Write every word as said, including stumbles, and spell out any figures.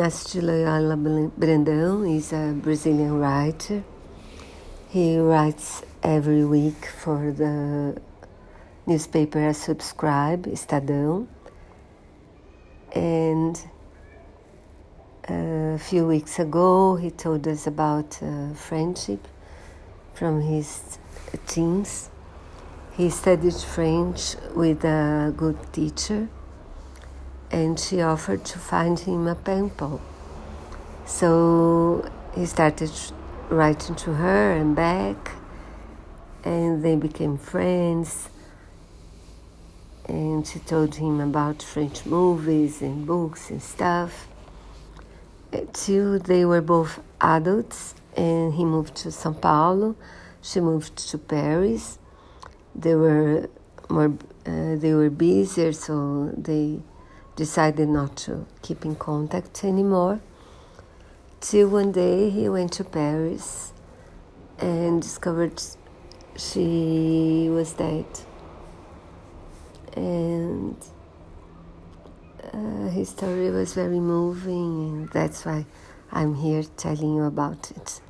Inácio de Loyola Brandão is a Brazilian writer. He writes every week for the newspaper I subscribe, Estadão. And a few weeks ago he told us about uh, friendship from his teens. He studied French with a good teacher, and she offered to find him a pen pal. So he started writing to her and back, and they became friends. And she told him about French movies and books and stuff. Till they were both adults, and he moved to São Paulo. She moved to Paris. They were more, uh, they were busier, so they decided not to keep in contact anymore. Till one day he went to Paris and discovered she was dead. And uh, his story was very moving, and that's why I'm here telling you about it.